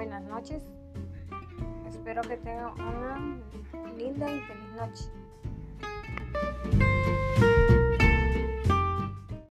buenas noches. Espero que tengan una linda y feliz noche.